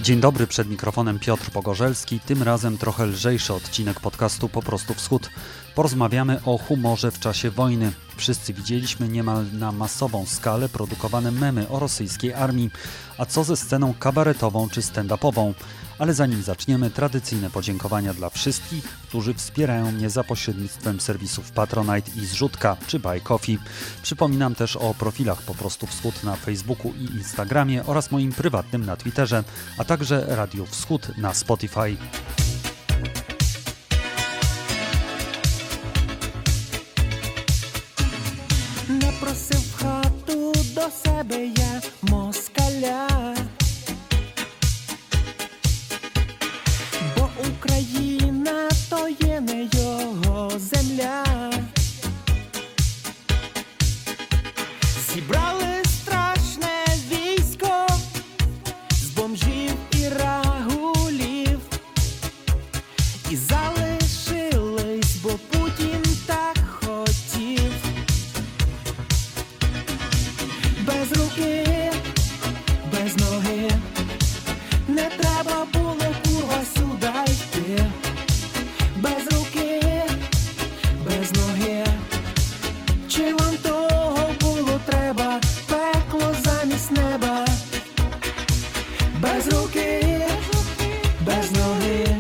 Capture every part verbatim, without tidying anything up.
Dzień dobry, przed mikrofonem Piotr Pogorzelski, tym razem trochę lżejszy odcinek podcastu Po prostu Wschód. Porozmawiamy o humorze w czasie wojny. Wszyscy widzieliśmy niemal na masową skalę produkowane memy o rosyjskiej armii. A co ze sceną kabaretową czy stand-upową? Ale zanim zaczniemy, tradycyjne podziękowania dla wszystkich, którzy wspierają mnie za pośrednictwem serwisów Patronite i Zrzutka czy Buy Coffee. Przypominam też o profilach Po prostu Wschód na Facebooku i Instagramie oraz moim prywatnym na Twitterze, a także Radiu Wschód na Spotify. Напросив в хату до себе я москаля, бо Україна то є не його земля. Зібрали страшне військо з бомжів і рагулів і залишились, бо Путін так хотів. Без руки, без ноги, не треба було, курва, сюди йти. Без руки, без ноги, чи вам того було треба, пекло замість неба. Без руки, без ноги,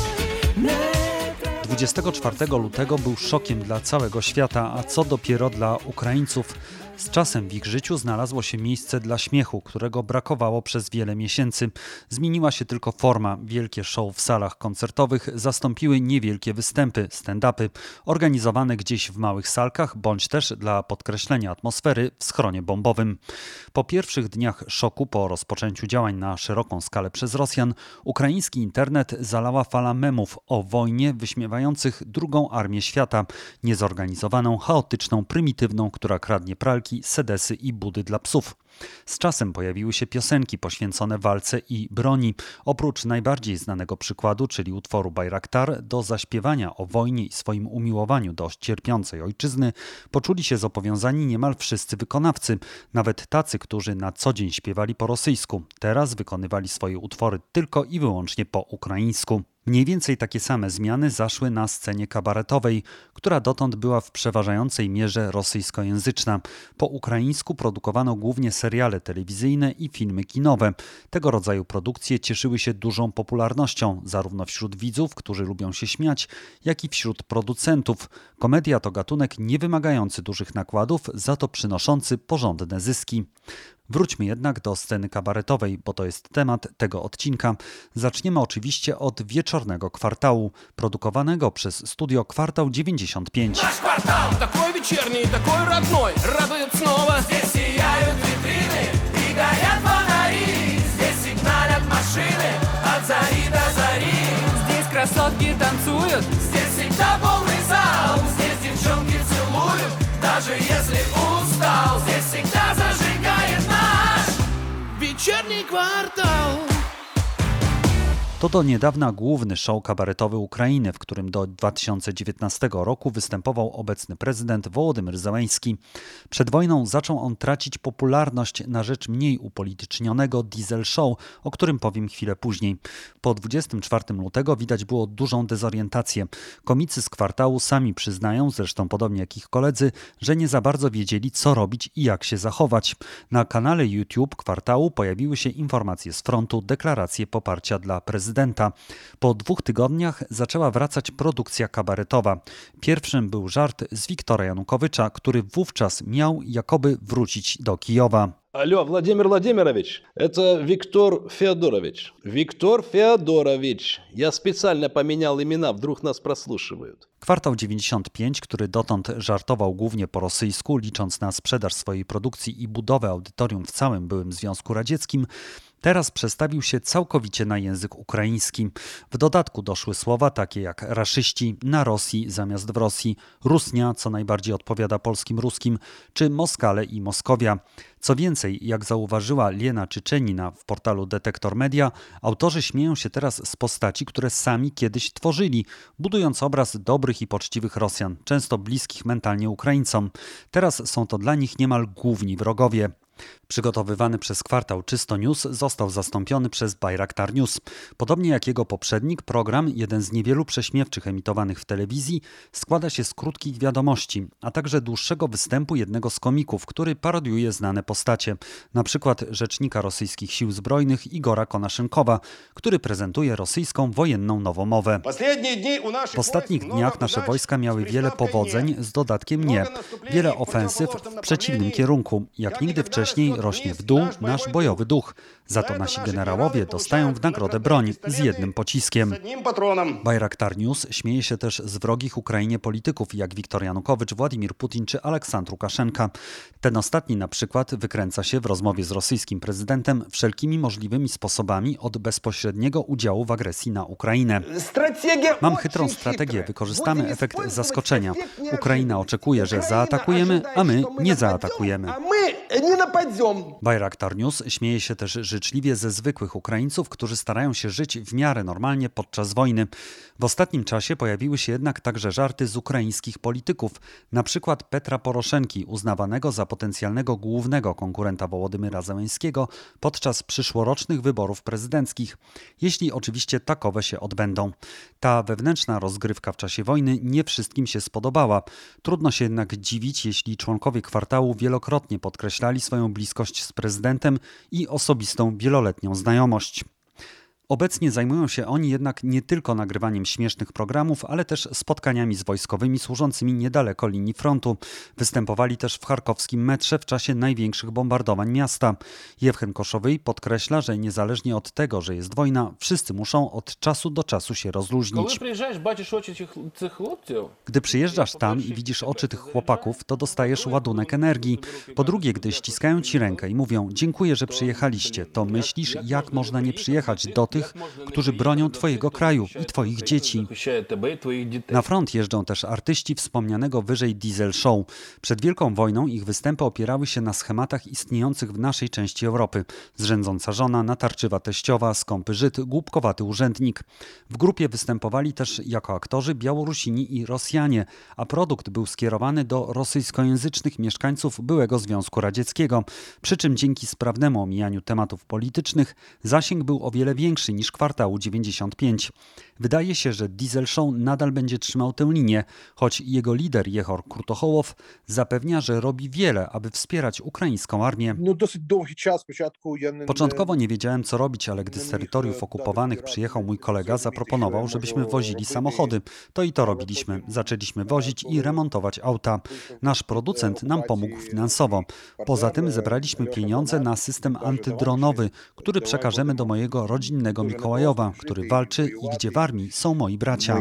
не треба. dwudziestego czwartego lutego był szokiem dla całego świata, a co dopiero dla Ukraińców. Z czasem w ich życiu znalazło się miejsce dla śmiechu, którego brakowało przez wiele miesięcy. Zmieniła się tylko forma. Wielkie show w salach koncertowych zastąpiły niewielkie występy, stand-upy, organizowane gdzieś w małych salkach, bądź też dla podkreślenia atmosfery w schronie bombowym. Po pierwszych dniach szoku, po rozpoczęciu działań na szeroką skalę przez Rosjan, ukraiński internet zalała fala memów o wojnie wyśmiewających drugą armię świata, niezorganizowaną, chaotyczną, prymitywną, która kradnie pralki, sedesy i budy dla psów. Z czasem pojawiły się piosenki poświęcone walce i broni. Oprócz najbardziej znanego przykładu, czyli utworu Bajraktar, do zaśpiewania o wojnie i swoim umiłowaniu do cierpiącej ojczyzny poczuli się zobowiązani niemal wszyscy wykonawcy, nawet tacy, którzy na co dzień śpiewali po rosyjsku. Teraz wykonywali swoje utwory tylko i wyłącznie po ukraińsku. Mniej więcej takie same zmiany zaszły na scenie kabaretowej, która dotąd była w przeważającej mierze rosyjskojęzyczna. Po ukraińsku produkowano głównie seriale telewizyjne i filmy kinowe. Tego rodzaju produkcje cieszyły się dużą popularnością, zarówno wśród widzów, którzy lubią się śmiać, jak i wśród producentów. Komedia to gatunek niewymagający dużych nakładów, za to przynoszący porządne zyski. Wróćmy jednak do sceny kabaretowej, bo to jest temat tego odcinka. Zaczniemy oczywiście od Wieczornego Kwartału, produkowanego przez studio Kwartał dziewięćdziesiąt pięć. Наш квартал такой вечерний, такой родной, радует снова. Здесь сияют витрины и горят фонари. Здесь сигналят машины от зари до зари. Здесь красотки танцуют, здесь всегда полный зал. Здесь девчонки целуют, даже если устал. Здесь всегда зажигает наш вечерний квартал. To do niedawna główny show kabaretowy Ukrainy, w którym do dwa tysiące dziewiętnastego roku występował obecny prezydent Wołodymyr Zełenski. Przed wojną zaczął on tracić popularność na rzecz mniej upolitycznionego Diesel Show, o którym powiem chwilę później. Po dwudziestego czwartego lutego widać było dużą dezorientację. Komicy z Kwartału sami przyznają, zresztą podobnie jak ich koledzy, że nie za bardzo wiedzieli, co robić i jak się zachować. Na kanale YouTube Kwartału pojawiły się informacje z frontu, deklaracje poparcia dla prezydenta. Prezydenta. Po dwóch tygodniach zaczęła wracać produkcja kabaretowa. Pierwszym był żart z Wiktora Janukowycza, który wówczas miał jakoby wrócić do Kijowa. Алло, Владимир Владимирович, это Виктор Феодорович. Виктор Феодорович. Я специально поменял имена, вдруг нас прослушивают. Kwartał dziewięćdziesiąt pięć, który dotąd żartował głównie po rosyjsku, licząc na sprzedaż swojej produkcji i budowę audytorium w całym byłym Związku Radzieckim, teraz przestawił się całkowicie na język ukraiński. W dodatku doszły słowa takie jak raszyści, na Rosji zamiast w Rosji, Rusnia, co najbardziej odpowiada polskim ruskim, czy Moskale i Moskowia. Co więcej, jak zauważyła Lena Czyczenina w portalu Detektor Media, autorzy śmieją się teraz z postaci, które sami kiedyś tworzyli, budując obraz dobrych i poczciwych Rosjan, często bliskich mentalnie Ukraińcom. Teraz są to dla nich niemal główni wrogowie. Przygotowywany przez kwartał Czysto News został zastąpiony przez Bayraktar News. Podobnie jak jego poprzednik, program, jeden z niewielu prześmiewczych emitowanych w telewizji, składa się z krótkich wiadomości, a także dłuższego występu jednego z komików, który parodiuje znane postacie, na przykład rzecznika rosyjskich sił zbrojnych Igora Konaszynkowa, który prezentuje rosyjską wojenną nowomowę. W ostatnich dniach nasze wojska miały wiele powodzeń, z dodatkiem nie. Wiele ofensyw w przeciwnym kierunku. Jak nigdy wcześniej rośnie w dół nasz bojowy duch. Za to nasi generałowie dostają w nagrodę broń z jednym pociskiem. Bayraktar News śmieje się też z wrogich Ukrainie polityków jak Wiktor Janukowycz, Władimir Putin czy Aleksandr Łukaszenka. Ten ostatni na przykład wykręca się w rozmowie z rosyjskim prezydentem wszelkimi możliwymi sposobami od bezpośredniego udziału w agresji na Ukrainę. Mam chytrą strategię, wykorzystamy efekt zaskoczenia. Ukraina oczekuje, że zaatakujemy, a my nie zaatakujemy. Bayraktar News śmieje się też życzliwie ze zwykłych Ukraińców, którzy starają się żyć w miarę normalnie podczas wojny. W ostatnim czasie pojawiły się jednak także żarty z ukraińskich polityków, na przykład Petra Poroszenki, uznawanego za potencjalnego głównego konkurenta Wołodymyra Zełenskiego podczas przyszłorocznych wyborów prezydenckich, jeśli oczywiście takowe się odbędą. Ta wewnętrzna rozgrywka w czasie wojny nie wszystkim się spodobała. Trudno się jednak dziwić, jeśli członkowie kwartału wielokrotnie podkreślali swoją bliskość z prezydentem i osobistą wieloletnią znajomość. Obecnie zajmują się oni jednak nie tylko nagrywaniem śmiesznych programów, ale też spotkaniami z wojskowymi służącymi niedaleko linii frontu. Występowali też w charkowskim metrze w czasie największych bombardowań miasta. Jewchen Koszowyj podkreśla, że niezależnie od tego, że jest wojna, wszyscy muszą od czasu do czasu się rozluźnić. Gdy przyjeżdżasz tam i widzisz oczy tych chłopaków, to dostajesz ładunek energii. Po drugie, gdy ściskają ci rękę i mówią: dziękuję, że przyjechaliście, to myślisz, jak można nie przyjechać do tych, którzy bronią twojego kraju i twoich dzieci. Na front jeżdżą też artyści wspomnianego wyżej Diesel Show. Przed Wielką Wojną ich występy opierały się na schematach istniejących w naszej części Europy. Zrzędząca żona, natarczywa teściowa, skąpy Żyd, głupkowaty urzędnik. W grupie występowali też jako aktorzy Białorusini i Rosjanie, a produkt był skierowany do rosyjskojęzycznych mieszkańców byłego Związku Radzieckiego. Przy czym dzięki sprawnemu omijaniu tematów politycznych zasięg był o wiele większy niż kwartału dziewięćdziesiąt pięć. Wydaje się, że Diesel Show nadal będzie trzymał tę linię, choć jego lider Jehor Krutochołow zapewnia, że robi wiele, aby wspierać ukraińską armię. Początkowo nie wiedziałem, co robić, ale gdy z terytoriów okupowanych przyjechał mój kolega, zaproponował, żebyśmy wozili samochody. To i to robiliśmy. Zaczęliśmy wozić i remontować auta. Nasz producent nam pomógł finansowo. Poza tym zebraliśmy pieniądze na system antydronowy, który przekażemy do mojego rodzinnego Mikołajowa, który walczy i gdzie w armii są moi bracia.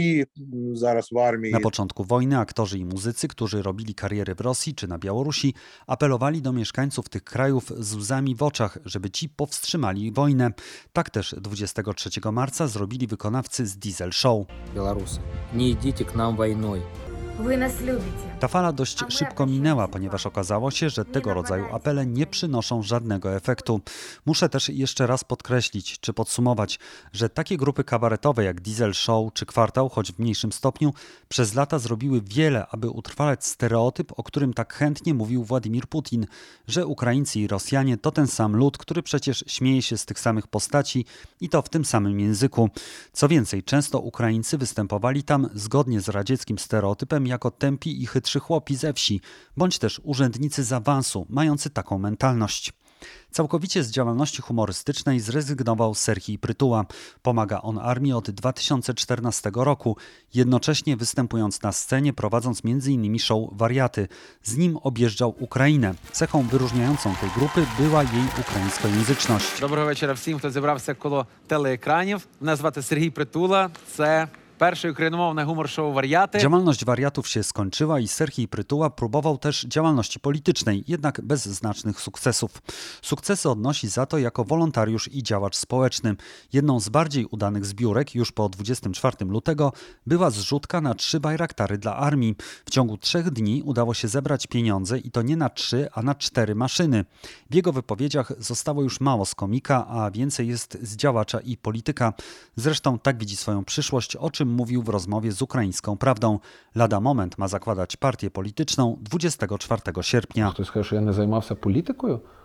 Na początku wojny aktorzy i muzycy, którzy robili kariery w Rosji czy na Białorusi, apelowali do mieszkańców tych krajów z łzami w oczach, żeby ci powstrzymali wojnę. Tak też dwudziestego trzeciego marca zrobili wykonawcy z Diesel Show. Białorusy, nie idźcie k nam wojną. Wy nas lubicie. Ta fala dość szybko minęła, ponieważ okazało się, że tego rodzaju apele nie przynoszą żadnego efektu. Muszę też jeszcze raz podkreślić, czy podsumować, że takie grupy kabaretowe jak Diesel Show czy Kwartał, choć w mniejszym stopniu, przez lata zrobiły wiele, aby utrwalać stereotyp, o którym tak chętnie mówił Władimir Putin, że Ukraińcy i Rosjanie to ten sam lud, który przecież śmieje się z tych samych postaci i to w tym samym języku. Co więcej, często Ukraińcy występowali tam zgodnie z radzieckim stereotypem jako tępi i chytrzy chłopi ze wsi, bądź też urzędnicy z awansu, mający taką mentalność. Całkowicie z działalności humorystycznej zrezygnował Serhij Prytuła. Pomaga on armii od dwa tysiące czternastego roku, jednocześnie występując na scenie, prowadząc między innymi show Wariaty. Z nim objeżdżał Ukrainę. Cechą wyróżniającą tej grupy była jej ukraińskojęzyczność. Доброго вечора всім, хто зібрався коло телеекранів. Мене звати Сергій Притула. Це перший україномовне гумор-шоу «Вар'яти». Działalność wariatów się skończyła i Serhij Prytuła próbował też działalności politycznej, jednak bez znacznych sukcesów. Sukcesy odnosi za to jako wolontariusz i działacz społeczny. Jedną z bardziej udanych zbiórek już po dwudziestego czwartego lutego była zrzutka na trzy bajraktary dla armii. W ciągu trzech dni udało się zebrać pieniądze i to nie na trzy, a na cztery maszyny. W jego wypowiedziach zostało już mało z komika, a więcej jest z działacza i polityka. Zresztą tak widzi swoją przyszłość, o czym mówił w rozmowie z Ukraińską Prawdą. Lada moment ma zakładać partię polityczną dwudziestego czwartego sierpnia. Хтось скаже, що я не займався політикою?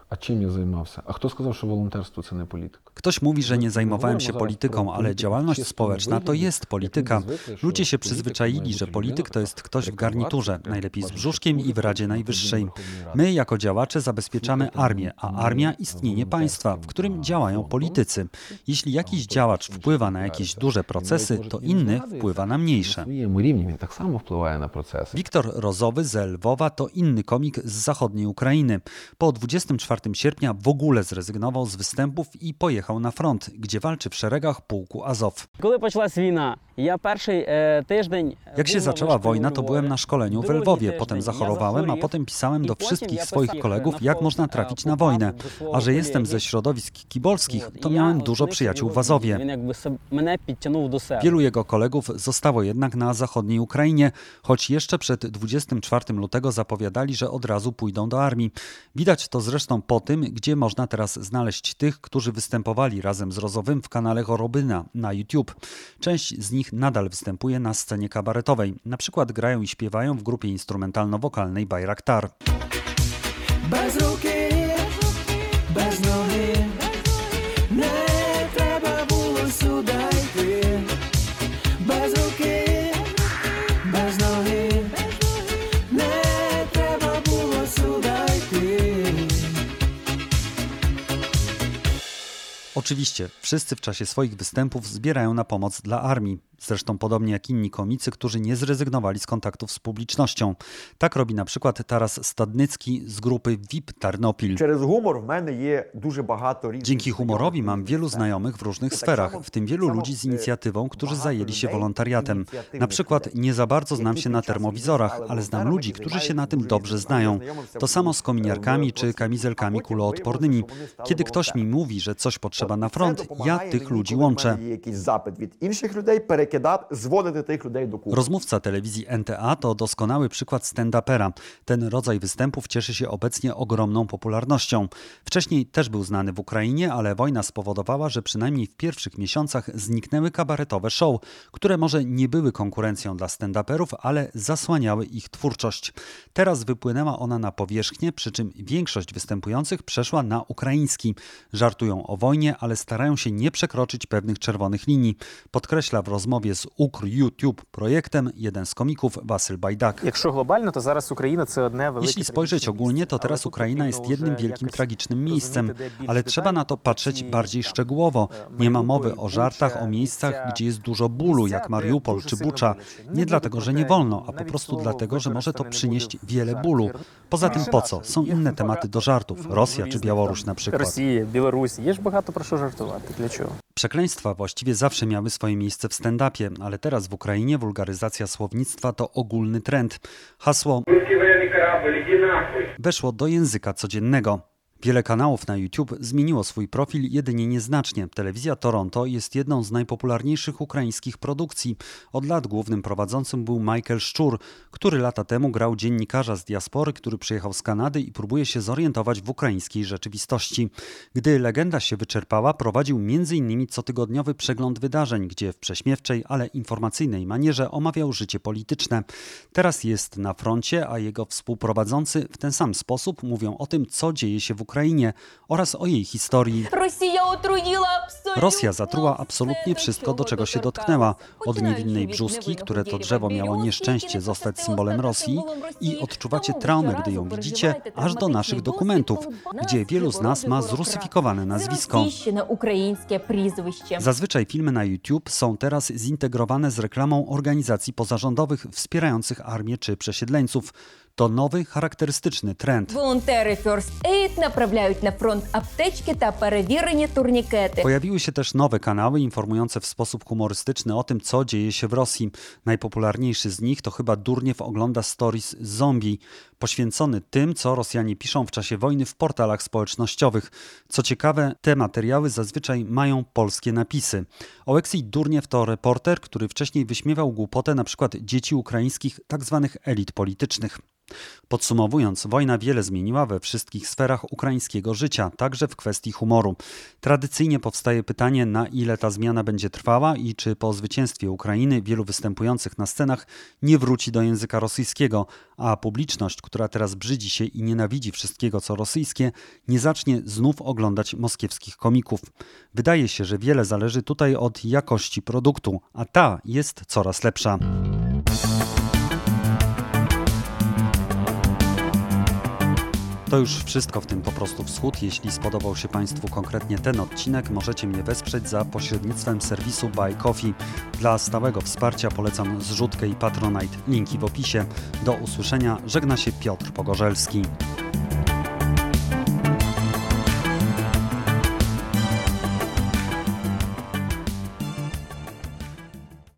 А чим я займався? А хто сказав, що волонтерство – це не політика? Ktoś mówi, że nie zajmowałem się polityką, ale działalność społeczna to jest polityka. Ludzie się przyzwyczaili, że polityk to jest ktoś w garniturze, najlepiej z brzuszkiem i w Radzie Najwyższej. My jako działacze zabezpieczamy armię, a armia istnienie państwa, w którym działają politycy. Jeśli jakiś działacz wpływa na jakieś duże procesy, to inny wpływa na mniejsze. На своєму рівні він так само впливає на процеси. Wiktor Rozowy z Lwowa to inny komik z zachodniej Ukrainy. Po dwudziestego czwartego sierpnia w ogóle zrezygnował z występów i pojechał na front, gdzie walczy w szeregach pułku Azow. Коли почалась війна, я перший е, тиждень Jak się zaczęła wojna, to byłem na szkoleniu w Lwowie, potem zachorowałem, a potem pisałem do wszystkich swoich kolegów, jak można trafić na wojnę. A że jestem ze środowisk kibolskich, to miałem dużo przyjaciół w Azowie. Він якби се- мене підтягнув до себе. Wielu jego kolegów zostało jednak na zachodniej Ukrainie, choć jeszcze przed dwudziestego czwartego lutego zapowiadali, że od razu pójdą do armii. Widać to zresztą po tym, gdzie można teraz znaleźć tych, którzy występowali razem z Rozowym w kanale Chorobyna na YouTube. Część z nich nadal występuje na scenie kabaretowej. Na przykład grają i śpiewają w grupie instrumentalno-wokalnej Bayraktar. Без руки, без ноги, не треба було сюди йти. Без руки, без ноги, не треба було сюди йти. Oczywiście, wszyscy w czasie swoich występów zbierają na pomoc dla armii. Zresztą podobnie jak inni komicy, którzy nie zrezygnowali z kontaktów z publicznością. Tak robi na przykład Taras Stadnycki z grupy V I P Tarnopil. Через гумор в мене є дуже багато різних. Dzięki humorowi mam wielu znajomych w różnych sferach, w tym wielu ludzi z inicjatywą, którzy zajęli się wolontariatem. Na przykład nie za bardzo znam się na termowizorach, ale znam ludzi, którzy się na tym dobrze znają. To samo z kominiarkami czy kamizelkami kuloodpornymi. Kiedy ktoś mi mówi, że coś potrzeba na front, ja tych ludzi łączę. Є якийсь запит від інших людей, перекидати, зводити тих людей до купи. Rozmówca telewizji N T A to doskonały przykład stand-upera. Ten rodzaj występów cieszy się obecnie ogromną popularnością. Wcześniej też był znany w Ukrainie, ale wojna spowodowała, że przynajmniej w pierwszych miesiącach zniknęły kabaretowe show, które może nie były konkurencją dla stand-uperów, ale zasłaniały ich twórczość. Teraz wypłynęła ona na powierzchnię, przy czym większość występujących przeszła na ukraiński. Żartują o wojnie, ale starają się nie przekroczyć pewnych czerwonych linii. Podkreśla w rozmowie z Ukr YouTube projektem jeden z komików Wasyl Bajdak. Якщо глобально, то зараз Україна це одне велике. Jeśli spojrzeć ogólnie, to teraz Ukraina jest jednym wielkim tragicznym miejscem, ale trzeba na to patrzeć bardziej szczegółowo. Nie ma mowy o żartach, o miejscach, gdzie jest dużo bólu, jak Mariupol czy Bucza. Nie dlatego, że nie wolno, a po prostu dlatego, że może to przynieść wiele bólu. Poza tym po co? Są inne tematy do żartów. Rosja czy Białoruś na przykład. Росія, Білорусь, є ж багато про що жартувати. Для чого? Przekleństwa właściwie zawsze miały swoje miejsce w stand-upie, ale teraz w Ukrainie wulgaryzacja słownictwa to ogólny trend. Hasło weszło do języka codziennego. Wiele kanałów na YouTube zmieniło swój profil jedynie nieznacznie. Telewizja Toronto jest jedną z najpopularniejszych ukraińskich produkcji. Od lat głównym prowadzącym był Michael Szczur, który lata temu grał dziennikarza z diaspory, który przyjechał z Kanady i próbuje się zorientować w ukraińskiej rzeczywistości. Gdy legenda się wyczerpała, prowadził między innymi cotygodniowy przegląd wydarzeń, gdzie w prześmiewczej, ale informacyjnej manierze omawiał życie polityczne. Teraz jest na froncie, a jego współprowadzący w ten sam sposób mówią o tym, co dzieje się w Ukrainie oraz o jej historii. Rosja zatruła absolutnie wszystko, do czego się dotknęła. Od niewinnej brzózki, które to drzewo miało nieszczęście zostać symbolem Rosji, i odczuwacie traumę, gdy ją widzicie, aż do naszych dokumentów, gdzie wielu z nas ma zrusyfikowane nazwisko. Zazwyczaj filmy na YouTube są teraz zintegrowane z reklamą organizacji pozarządowych wspierających armię czy przesiedleńców. To nowy, charakterystyczny trend. Волонтери First Aid направляють на фронт аптечки та перевірені турнікети. Pojawiły się też nowe kanały informujące w sposób humorystyczny o tym, co dzieje się w Rosji. Najpopularniejszy z nich to chyba Durniew ogląda stories zombie, poświęcony tym, co Rosjanie piszą w czasie wojny w portalach społecznościowych. Co ciekawe, te materiały zazwyczaj mają polskie napisy. Oleksij Durniew to reporter, który wcześniej wyśmiewał głupotę na przykład dzieci ukraińskich tzw. elit politycznych. Podsumowując, wojna wiele zmieniła we wszystkich sferach ukraińskiego życia, także w kwestii humoru. Tradycyjnie powstaje pytanie, na ile ta zmiana będzie trwała i czy po zwycięstwie Ukrainy wielu występujących na scenach nie wróci do języka rosyjskiego, a publiczność, która teraz brzydzi się i nienawidzi wszystkiego, co rosyjskie, nie zacznie znów oglądać moskiewskich komików. Wydaje się, że wiele zależy tutaj od jakości produktu, a ta jest coraz lepsza. To już wszystko w tym Po prostu Wschód. Jeśli spodobał się Państwu konkretnie ten odcinek, możecie mnie wesprzeć za pośrednictwem serwisu Buy Coffee. Dla stałego wsparcia polecam zrzutkę i Patronite. Linki w opisie. Do usłyszenia. Żegna się Piotr Pogorzelski.